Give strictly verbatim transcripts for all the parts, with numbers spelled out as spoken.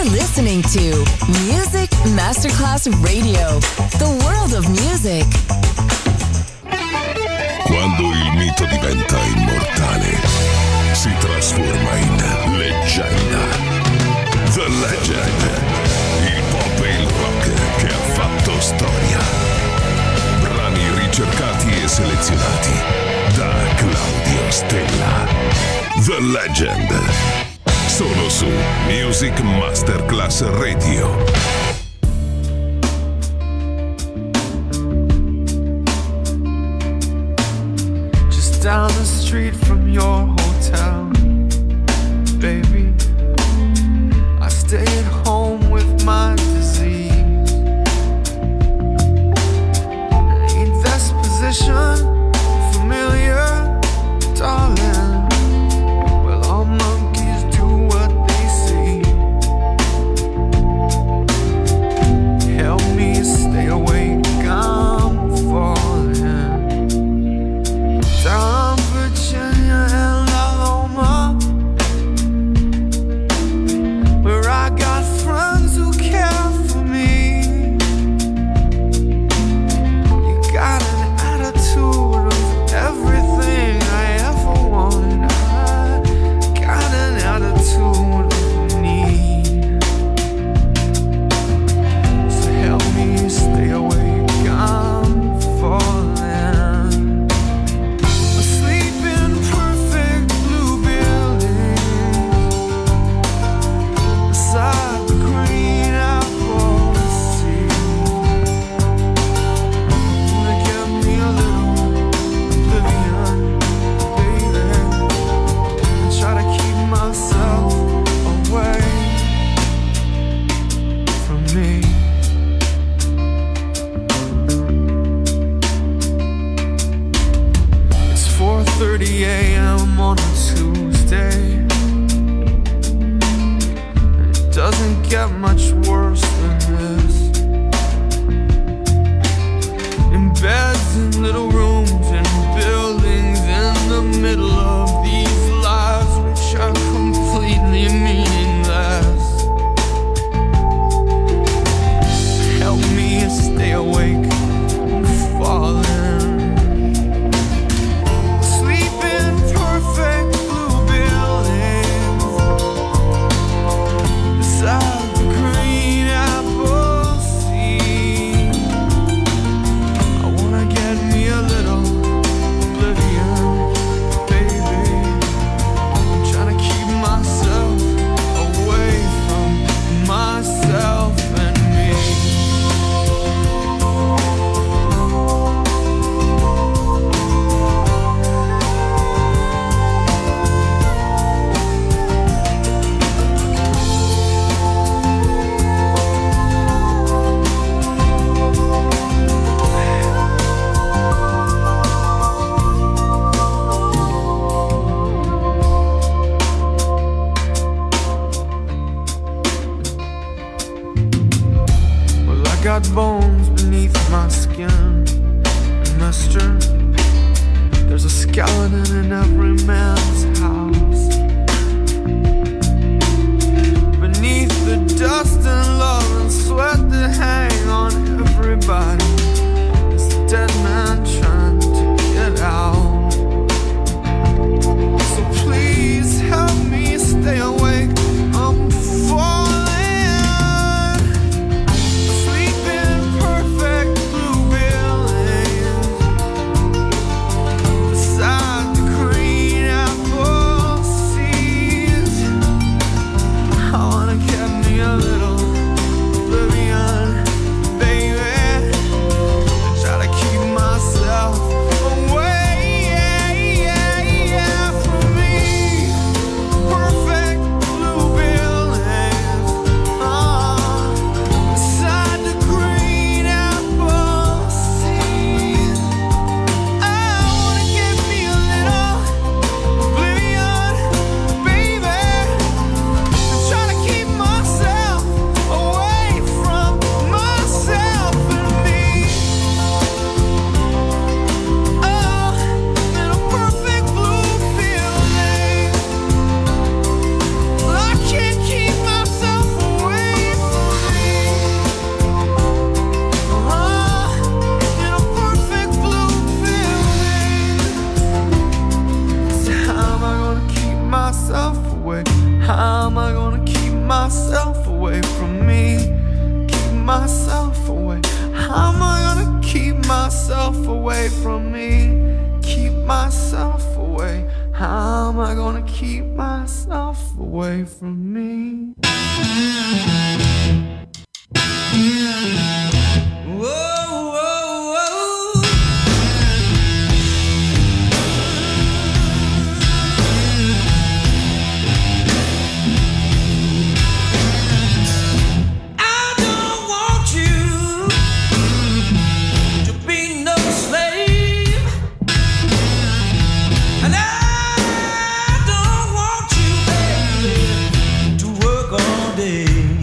listening to Music Masterclass Radio, the world of music. Quando il mito diventa immortale, si trasforma in leggenda. The Legend, il pop e il rock che ha fatto storia. Brani ricercati e selezionati da Claudio Stella. The Legend, solo su Music Masterclass Radio. Down the street from your hotel, baby, I stay at home with my disease. Ain't this position familiar, darling? Well, all monkeys do what they see. Help me stay awake, I'm falling down Virginia and Alabama, where I got friends who care for me. You got an attitude of everything I ever wanted. I got an attitude of need. So help me stay awake, I'm falling. thirty a.m. on a Tuesday. It doesn't get much worse than this. In beds, in little rooms, in buildings, in the middle of these lives which are completely meaningless. Help me stay awake, I'm falling. Perfect blue buildings beside the green apple sea. I wanna get me a little oblivion, baby. I'm trying to keep myself away from myself and me. Got bones beneath my skin, mister. There's a skeleton in every man's house. Beneath the dust and love and sweat that hang on everybody, it's the dead man trying to get out. So please help me stay awake, I'm falling. Beside the green apple am I gonna keep myself away from me? Keep myself away. How am I gonna keep myself away from me? Keep myself away. How am I gonna keep myself away from me? Whoa, whoa, whoa. I don't want you to be no slave, and I don't want you, baby, to work all day.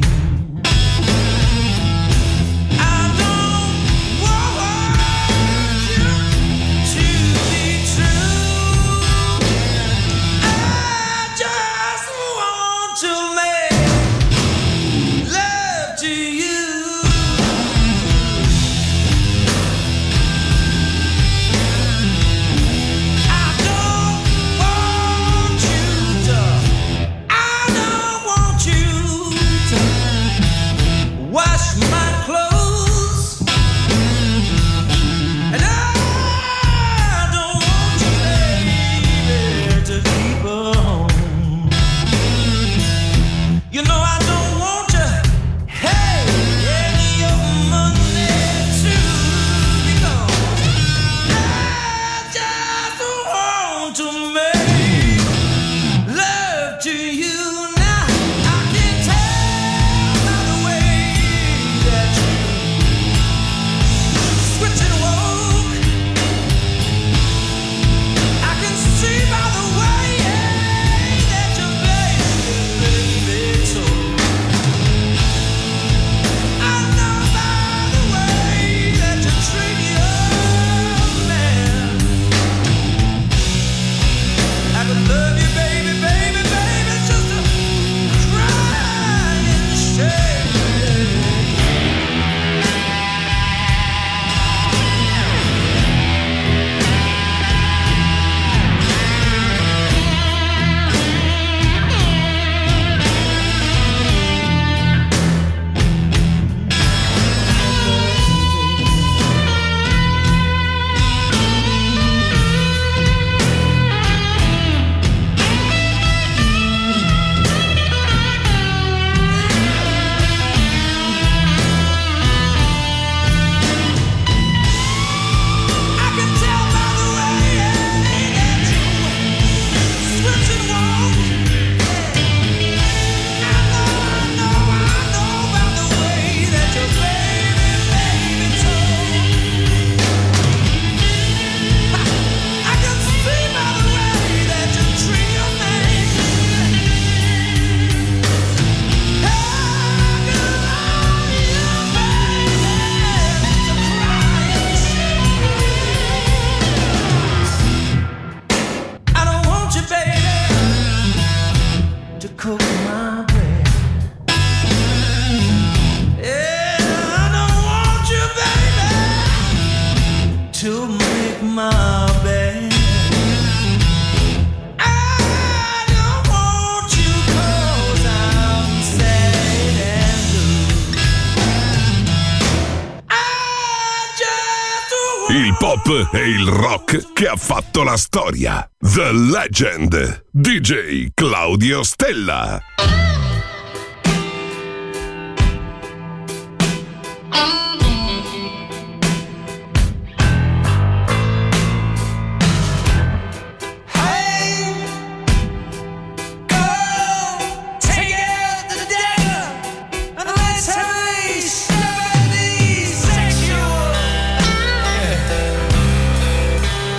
Il pop e il rock che ha fatto la storia. The Legend, D J Claudio Stella.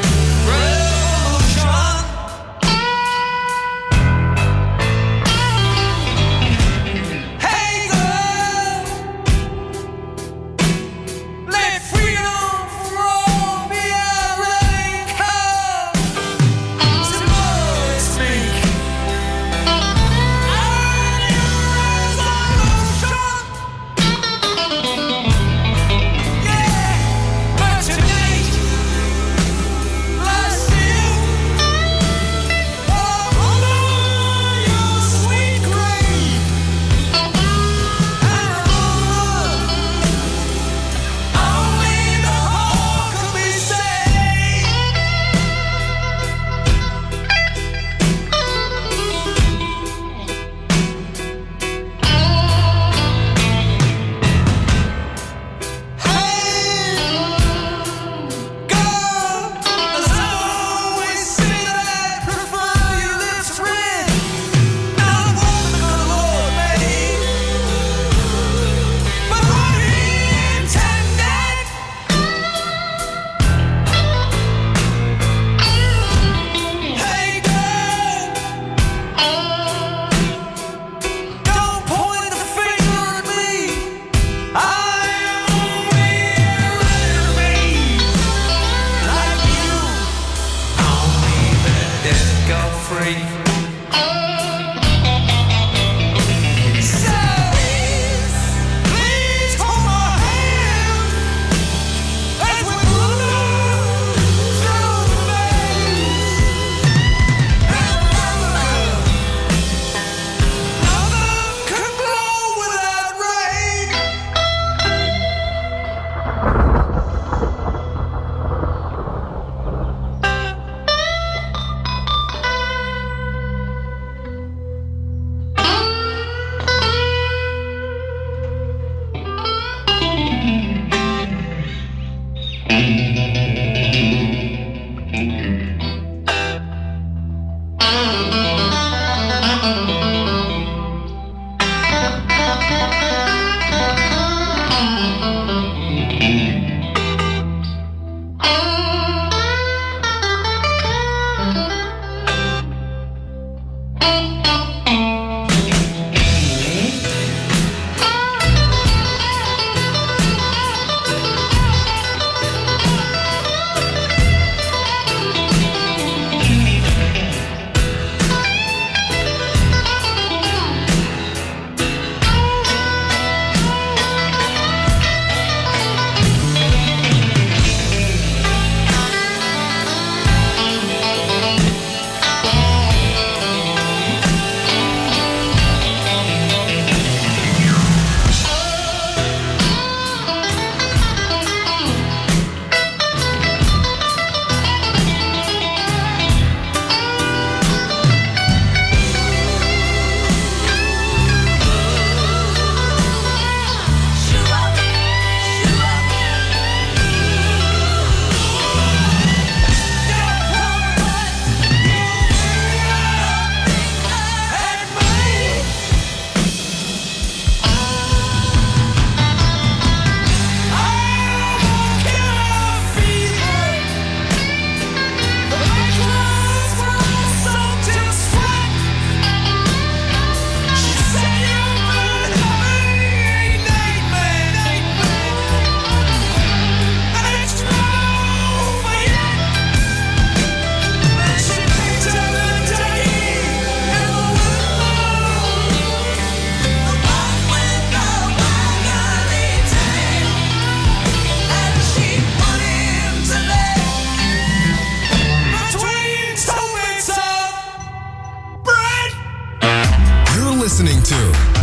Revolution.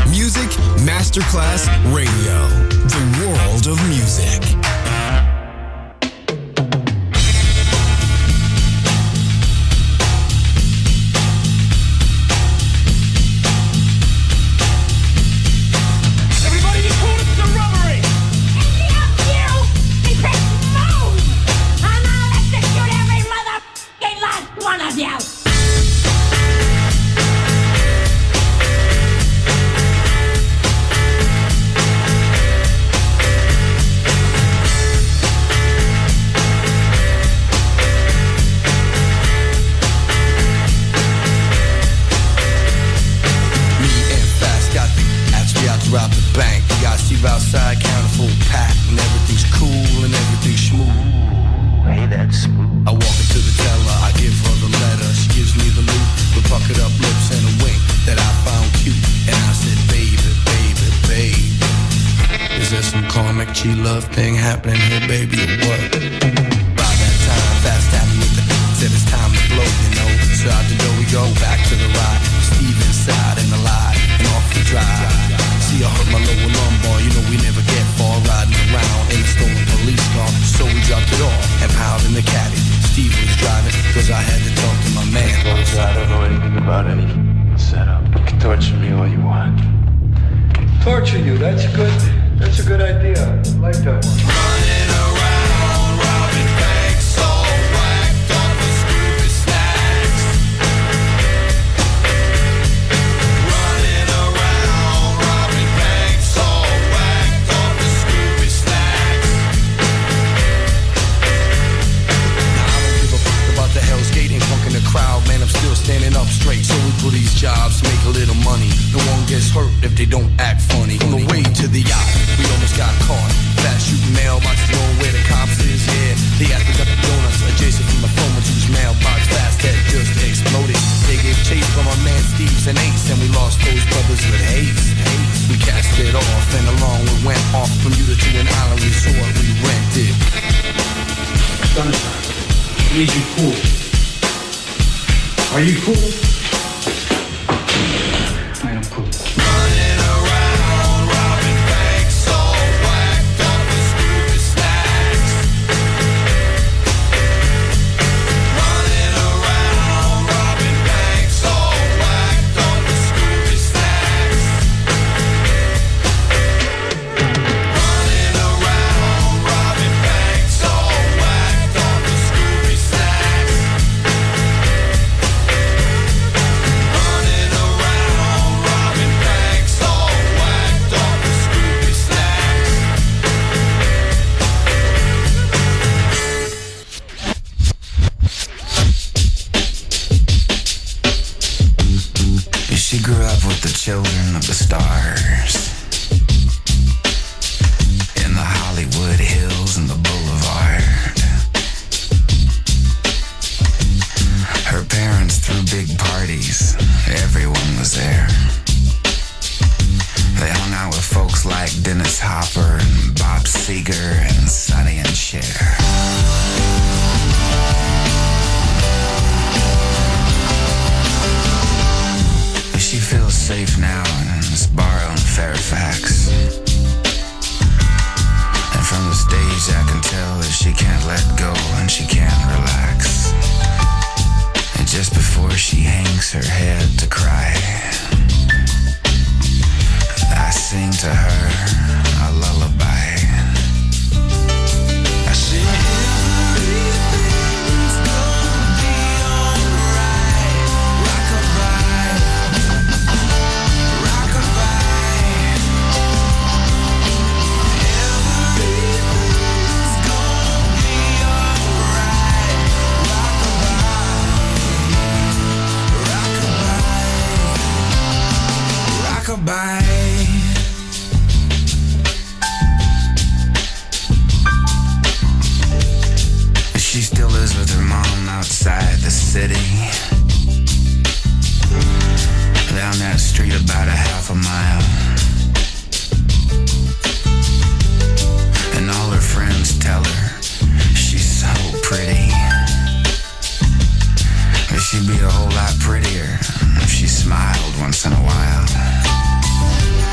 Music Masterclass Radio. The world of music. Outside, counting full pack, and everything's cool and everything's smooth. Hey, that's smooth. I walk into the teller, I give her the letter. She gives me the loot with puckered up lips and a wink that I found cute. And I said, baby, baby, baby, is there some karmic G-love thing happening here, baby, or what? By that time, fast tapping with the said it's time to blow, you know. So out the door we go, back to the ride. Steve inside and alive, and off we drive. See, I hurt my lower lumbar, you know we never get far. Riding around in a stolen police car. So we dropped it off and piled in the caddy. Steve was driving, cause I had to talk to my man. Close, I don't know anything about any setup. You can torture me all you want. Torture you, that's good. That's a good idea. I like that one. Running around, robbing banks, all whacked up with stupid snacks. Running around, robbing banks, all whacked up with stupid snacks. Now I don't give a fuck about the Hell's Gate and funk in the crowd, man. I'm still standing up straight. So we do these jobs to make a little money. No one gets hurt if they don't act funny. On the way to the yacht, we almost got caught. Fast shooting mailboxes, knowing where the cops is, yeah. They asked me about the donuts adjacent from the phone whose mailbox fast that just exploded. They gave chase from our man Steve's and Ace, and we lost those brothers with haste. We cast it off, and along we went off from Utah to an island resort we rented. Sunshine, I need you cool. Are you cool? I am cool. Running around, robbing banks, all whacked up with stupid snacks. Running around, robbing banks, all whacked up with stupid snacks. Running around, robbing banks, all whacked up with stupid snacks. Running around, robbing banks, all whacked up with stupid snacks. She grew up with the children of the stars in the Hollywood Hills and the Boulevard. Her parents threw big parties. Everyone was there. They hung out with folks like Dennis Hopper and Bob Seger and Sonny and Cher. She feels safe now in this bar on Fairfax. And from the stage I can tell that she can't let go and she can't relax. And just before she hangs her head to cry, I sing to her a lullaby. I sing everything's gonna be alright. Rock-a-bye, rock-a-bye. Everything's gonna be alright. Rock-a-bye, rock-a-bye, rock-a-bye. She still lives with her mom outside the city. Down that street about a half a mile. And all her friends tell her she's so pretty. But she'd be a whole lot prettier if she smiled once in a while.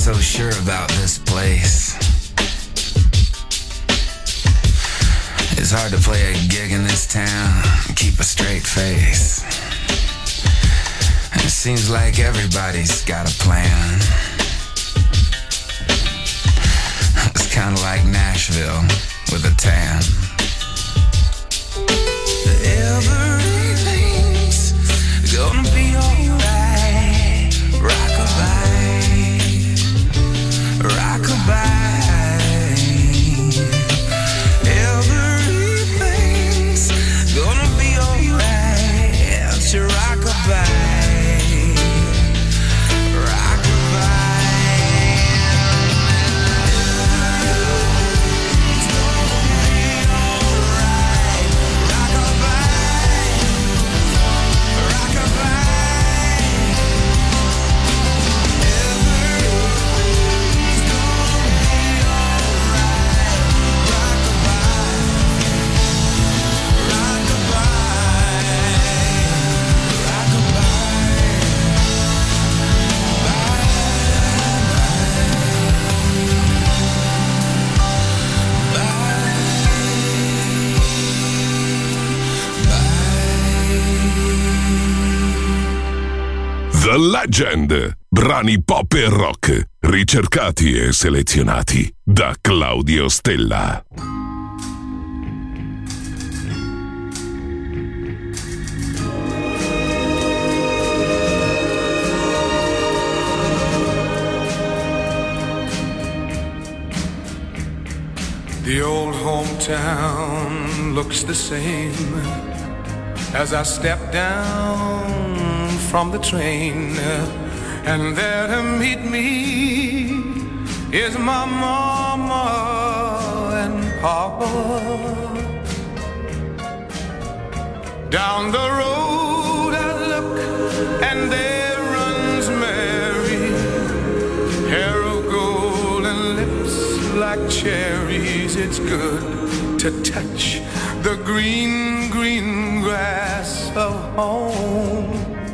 so sure about this place. It's hard to play a gig in this town and keep a straight face. And it seems like everybody's got a plan. It's kind of like Nashville with a tan. Everything's gonna be alright. Rockabye, rockabye. Everything's gonna be alright. It's your rockabye. The Legend, brani pop e rock, ricercati e selezionati da Claudio Stella. The old hometown looks the same as I step down from the train, and there to meet me is my mama and papa. Down the road I look, and there runs Mary, hair of gold and lips like cherries. It's good to touch the green, green grass of home.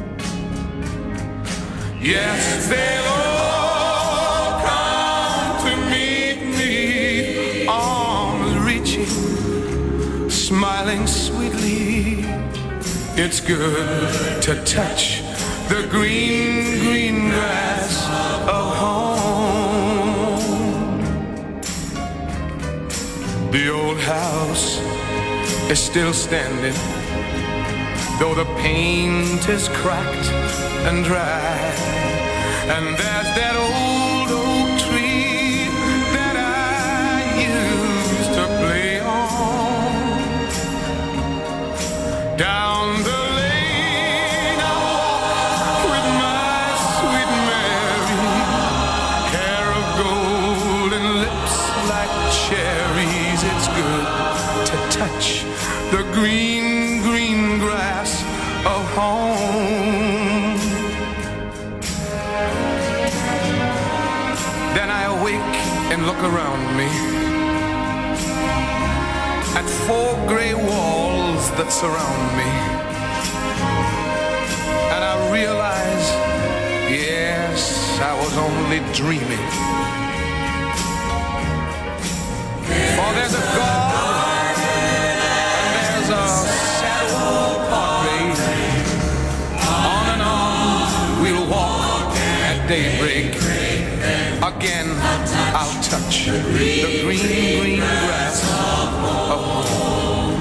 Yes, they'll all come to meet me, arms reaching, smiling sweetly. It's good to touch the green, green grass of home. The old house is still standing, though the paint is cracked and dry. And there's that old oak tree that I used to play on. Down the lane I walk with my sweet Mary, hair of gold and lips like cherries. It's good to touch the green, green grass of home. Then I awake and look around me at four gray walls that surround me, and I realize, yes, I was only dreaming. For there's a God and there's a sad old portrait. On and on we'll walk at daybreak. Again, I'll touch the green, green grass of home.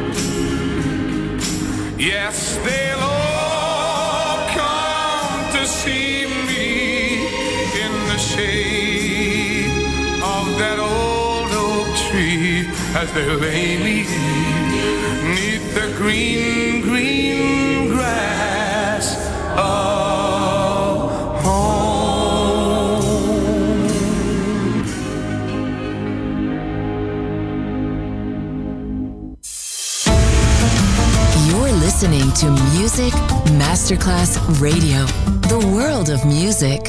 Yes, they'll all come to see me in the shade of that old oak tree as they lay me neath the green, green grass of home. Listening to Music Masterclass Radio, the world of music.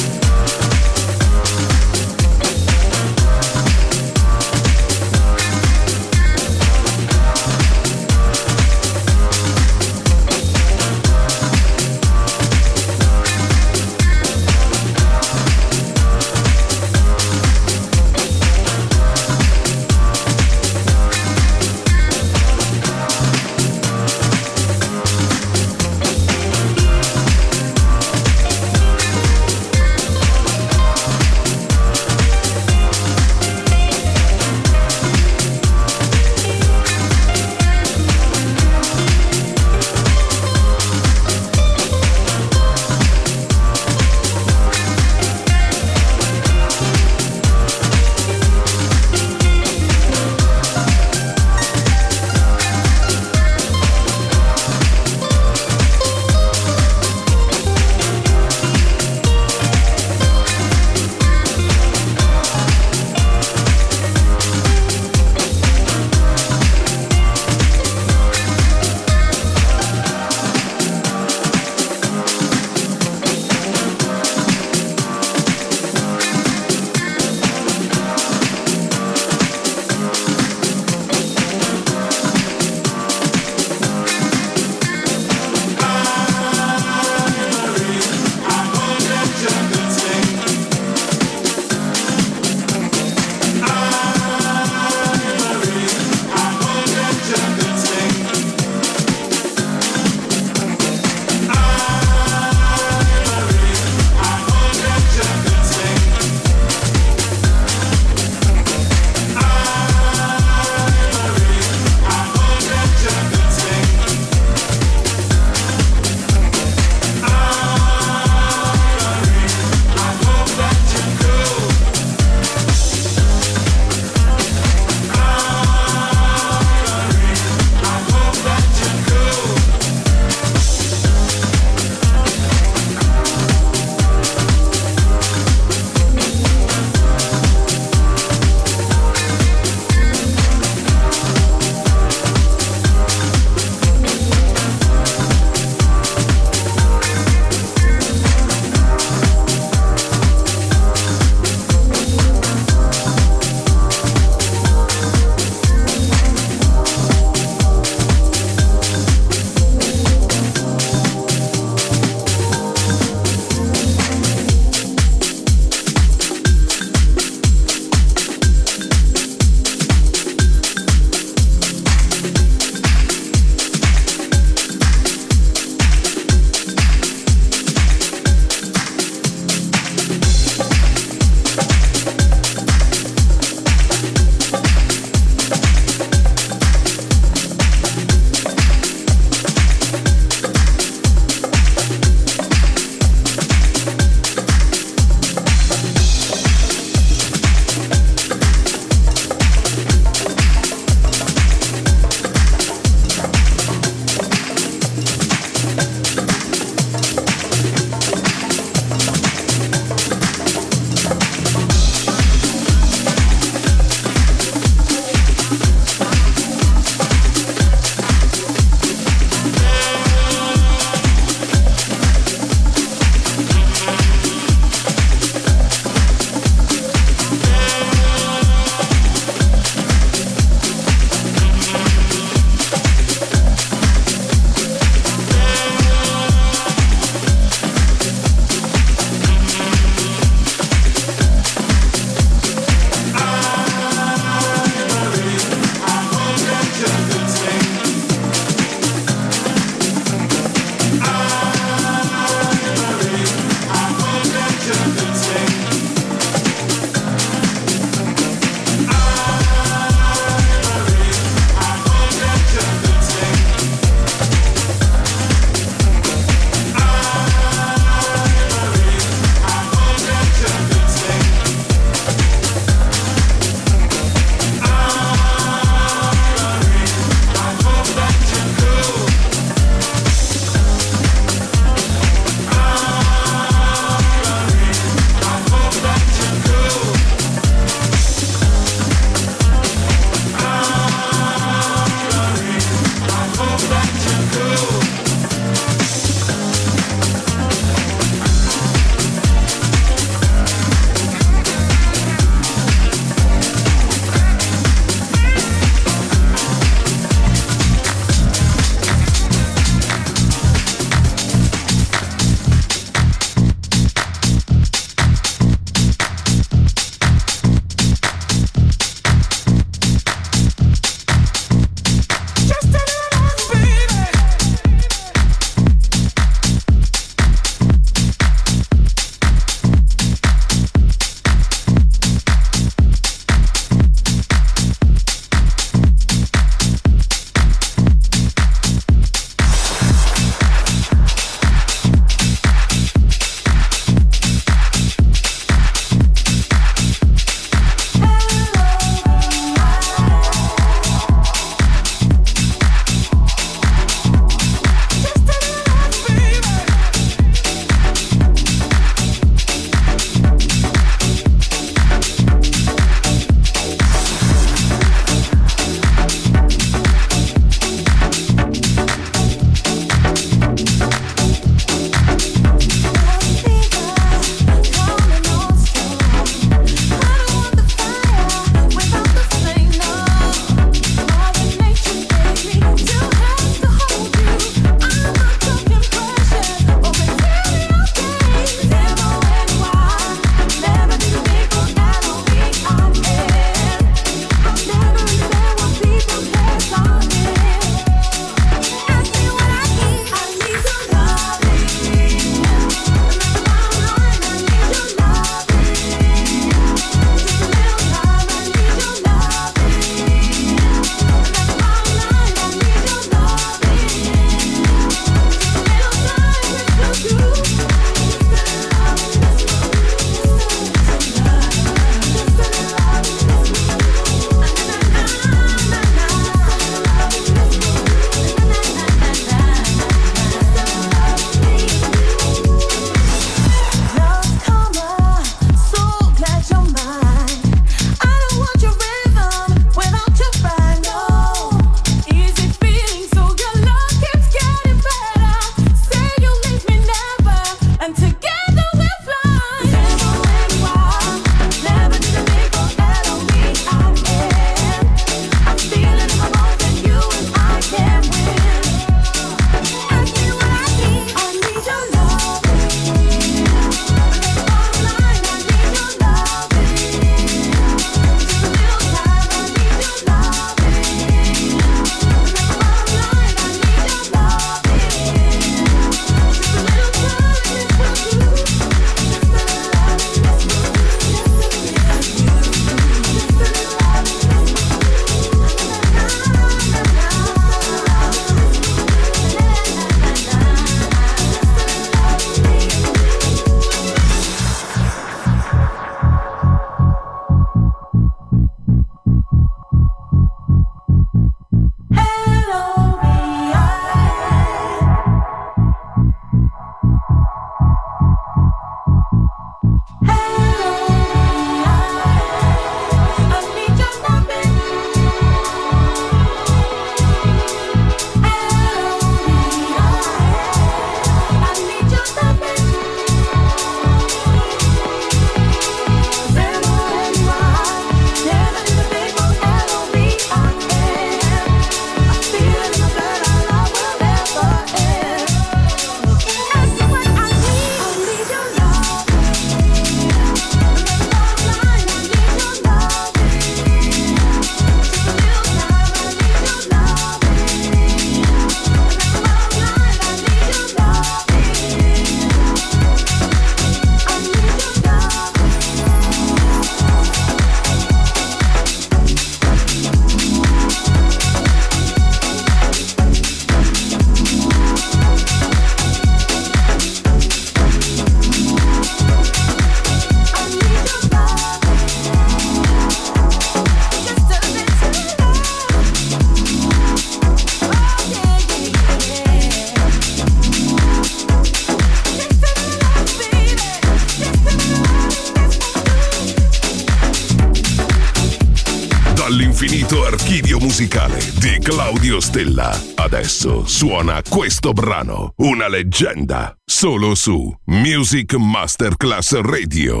Dall'infinito archivio musicale di Claudio Stella. Adesso suona questo brano, una leggenda, solo su Music Masterclass Radio.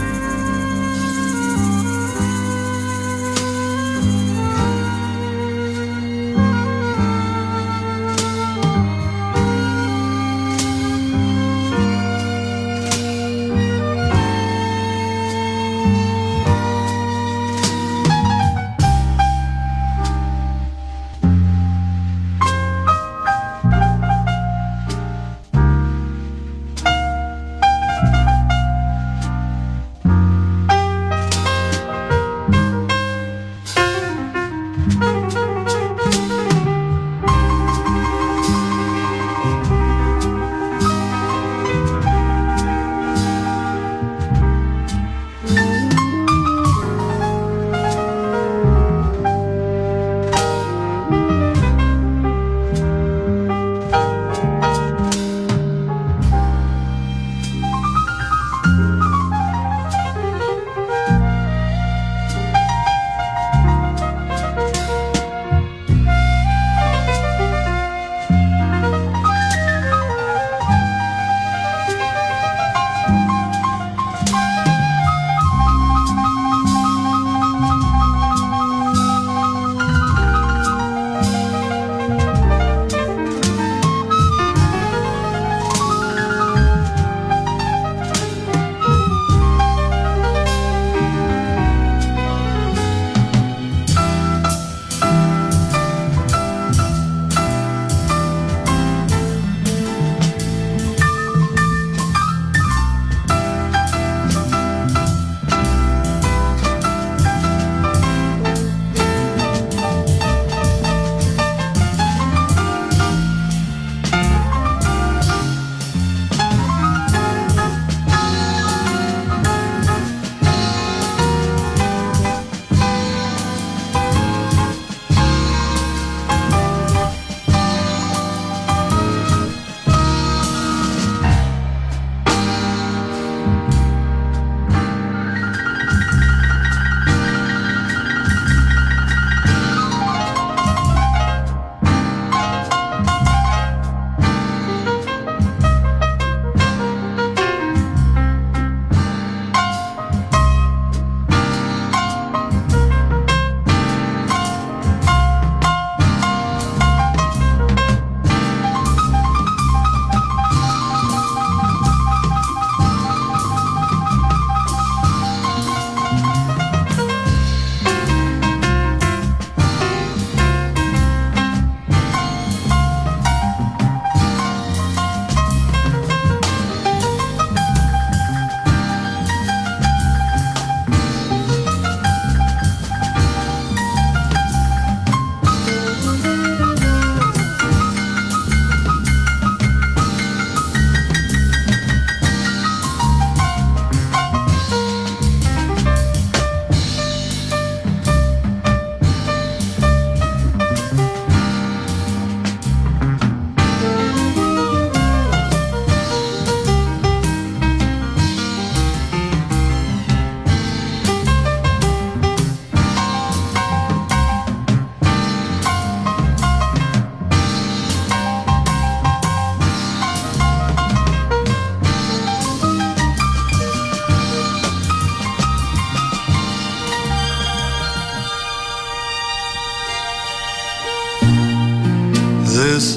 This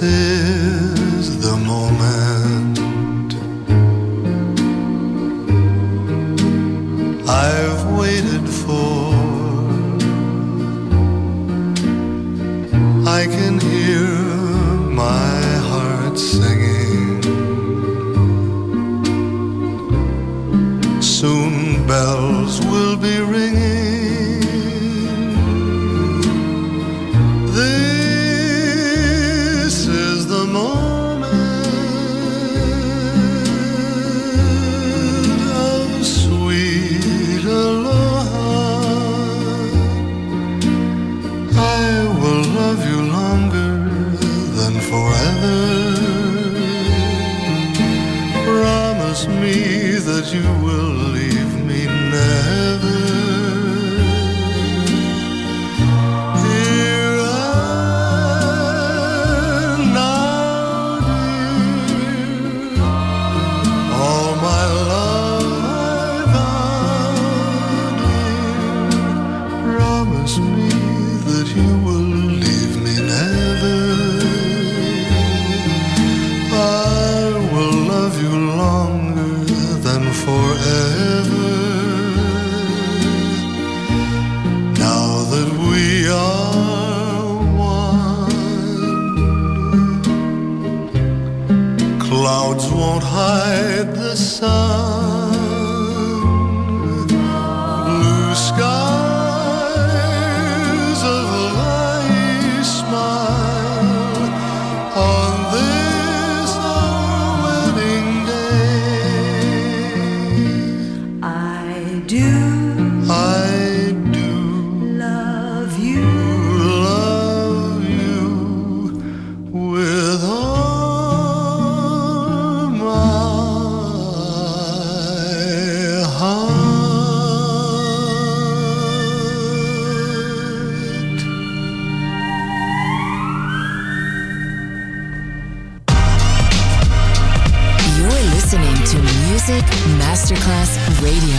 is the moment I've waited for. I can hear my heart singing. Soon bells will be ringing. That you will leave me never. promise me that you will leave me never. I will love you longer than forever. Now that we are one, clouds won't hide the sun. Masterclass Radio.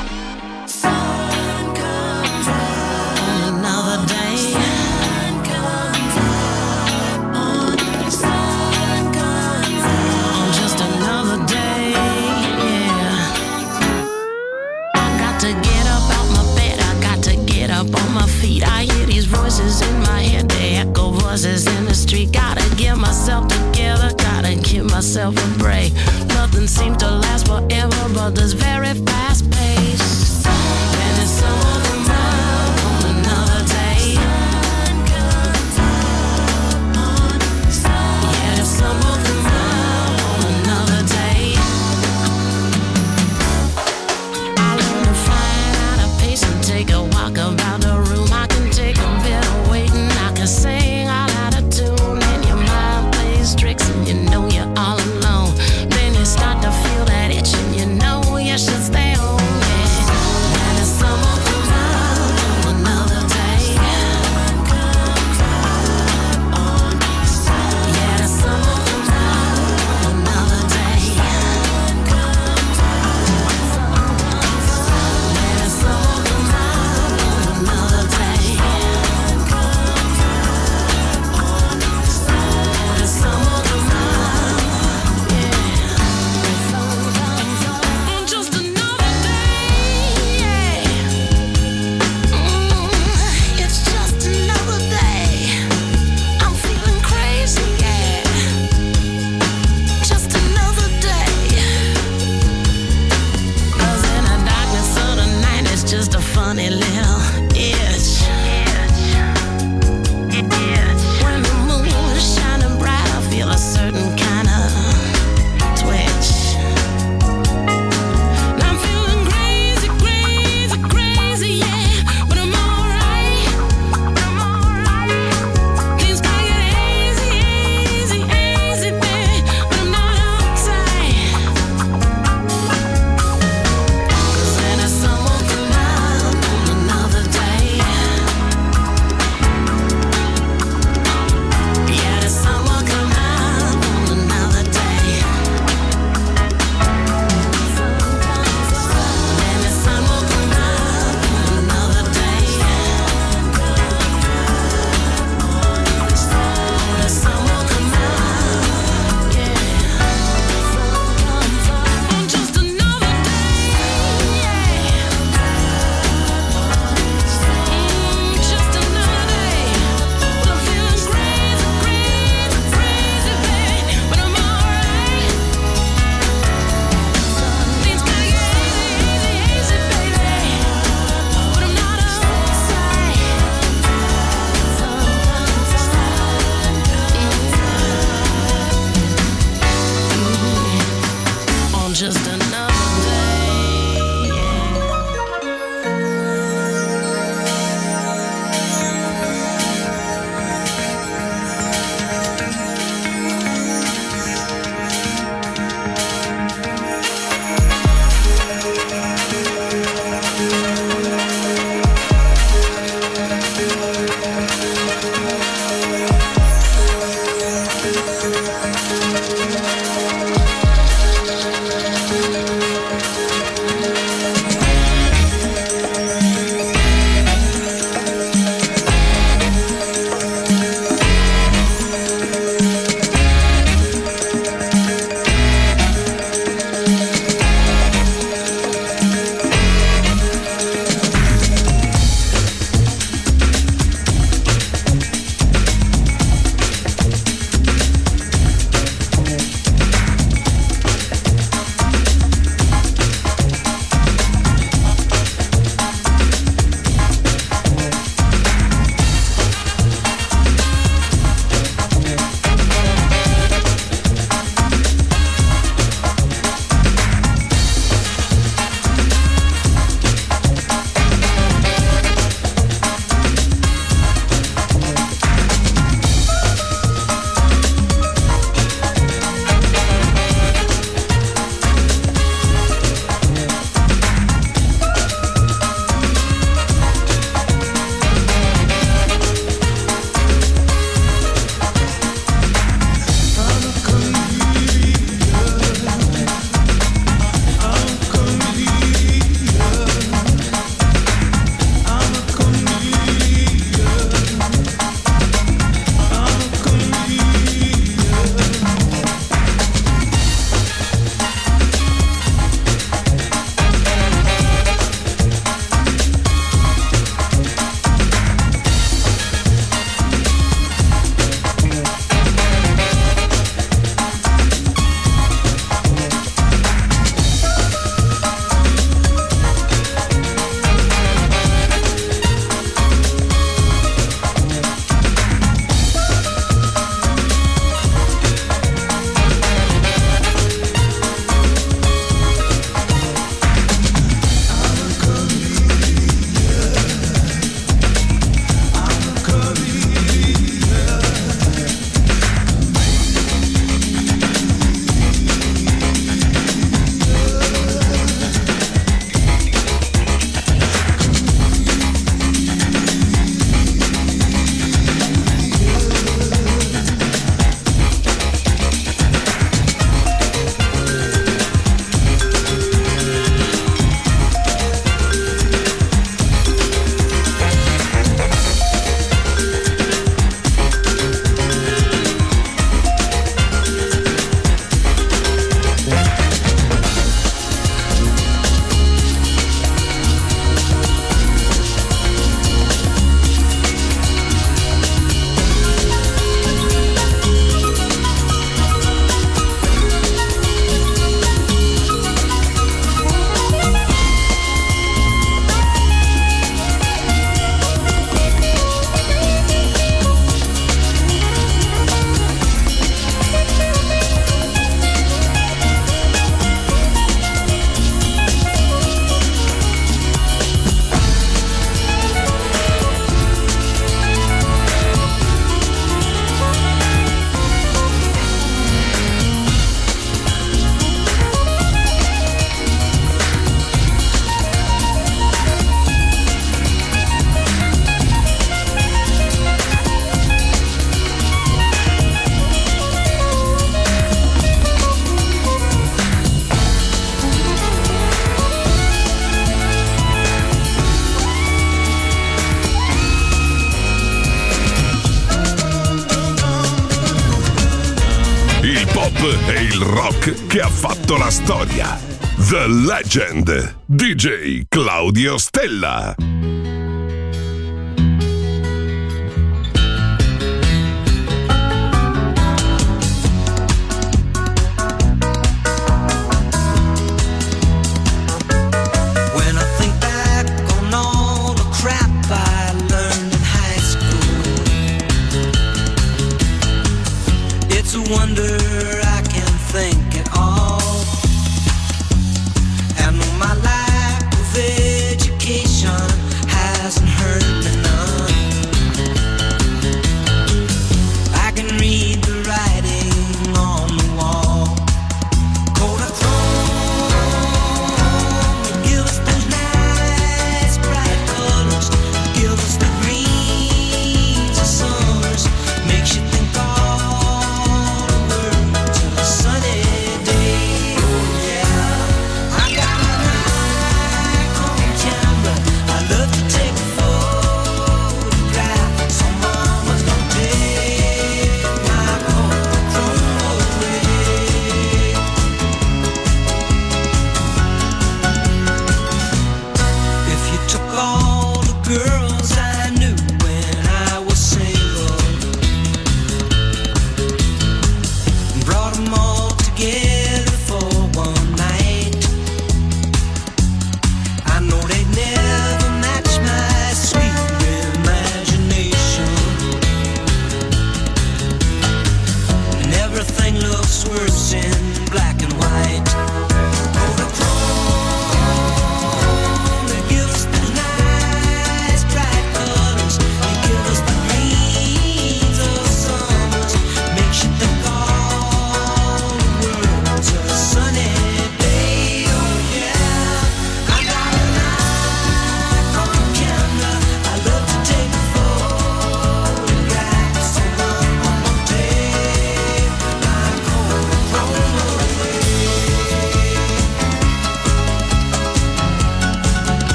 Sun comes out on another day. Sun comes out on, sun comes out on just another day. Yeah. I got to get up out my bed. I got to get up on my feet. I hear these voices in my head. They echo voices in the street. Gotta get myself together. Gotta give myself a break. Nothing seems to last forever, but this very fast pace. And it's some of the time on another day. Yeah, it's some of the time on another day. I learn to find out a pace and take a walk about the room. I can take a bit of waiting. I can sing all out of tune, and your mind plays tricks, and you know you're all alone. Start to feel that itch and you know you should stay e il rock che ha fatto la storia. The Legend, D J Claudio Stella. Wonder I can think at all. And my lack of education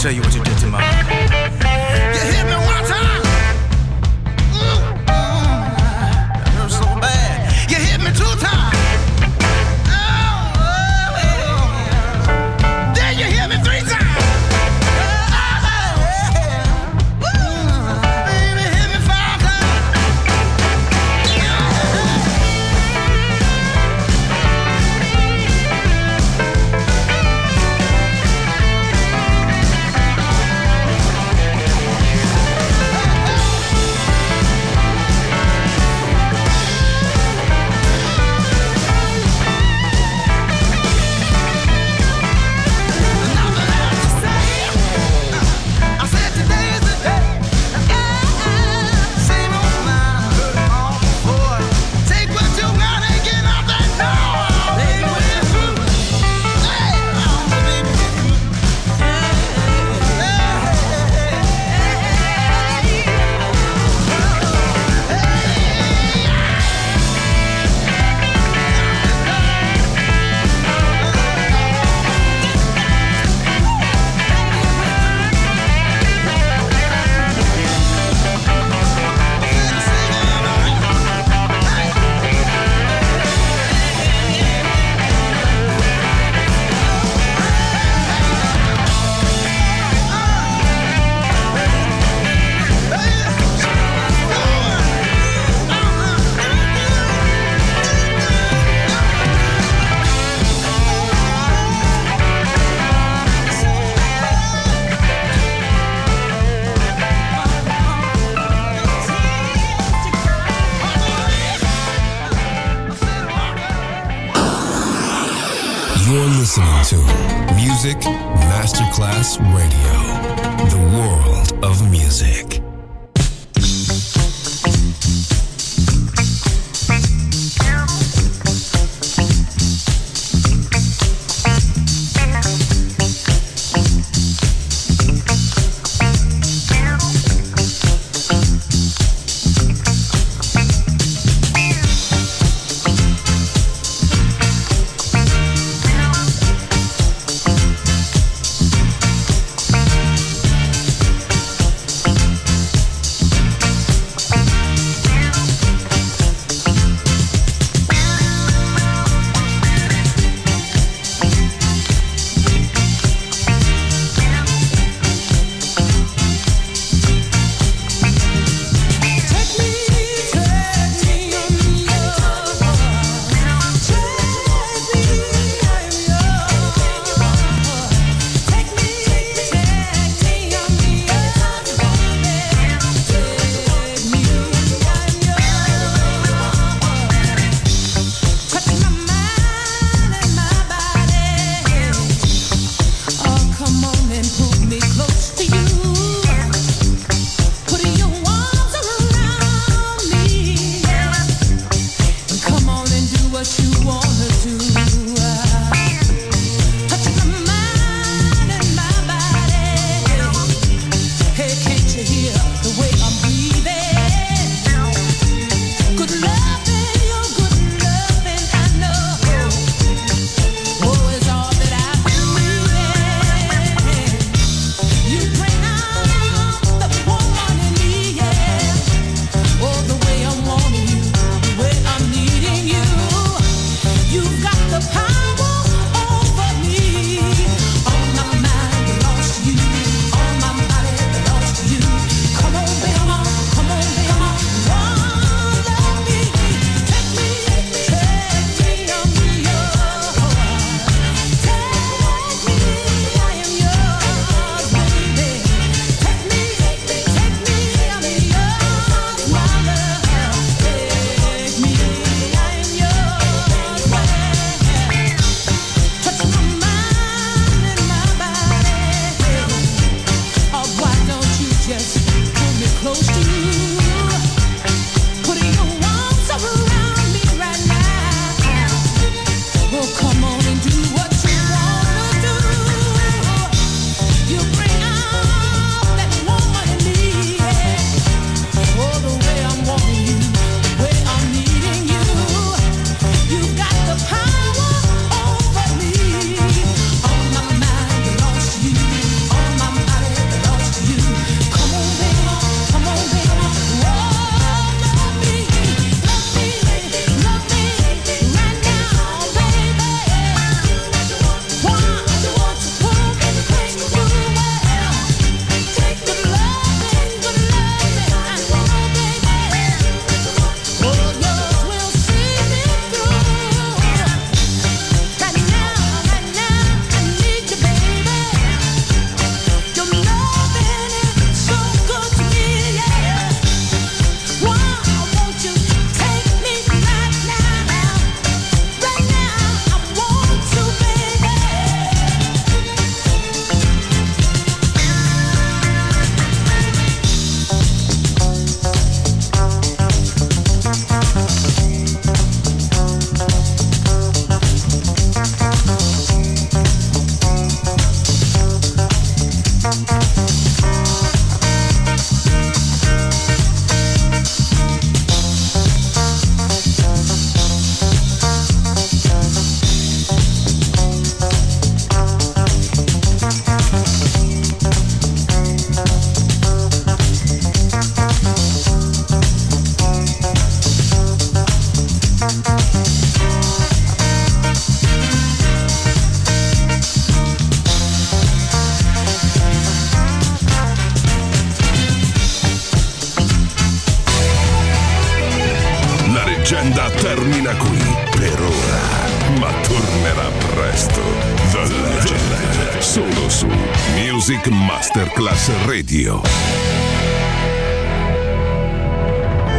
tell you what you did to my heart. You hit me one time. Ooh, ooh, that hurt so bad. You hit me two times. Oh, oh, oh. Then you hit me three times. Listening to Music Masterclass Radio, the world of music. leggenda termina qui per ora, ma tornerà presto. The Legend, solo su Music Masterclass Radio.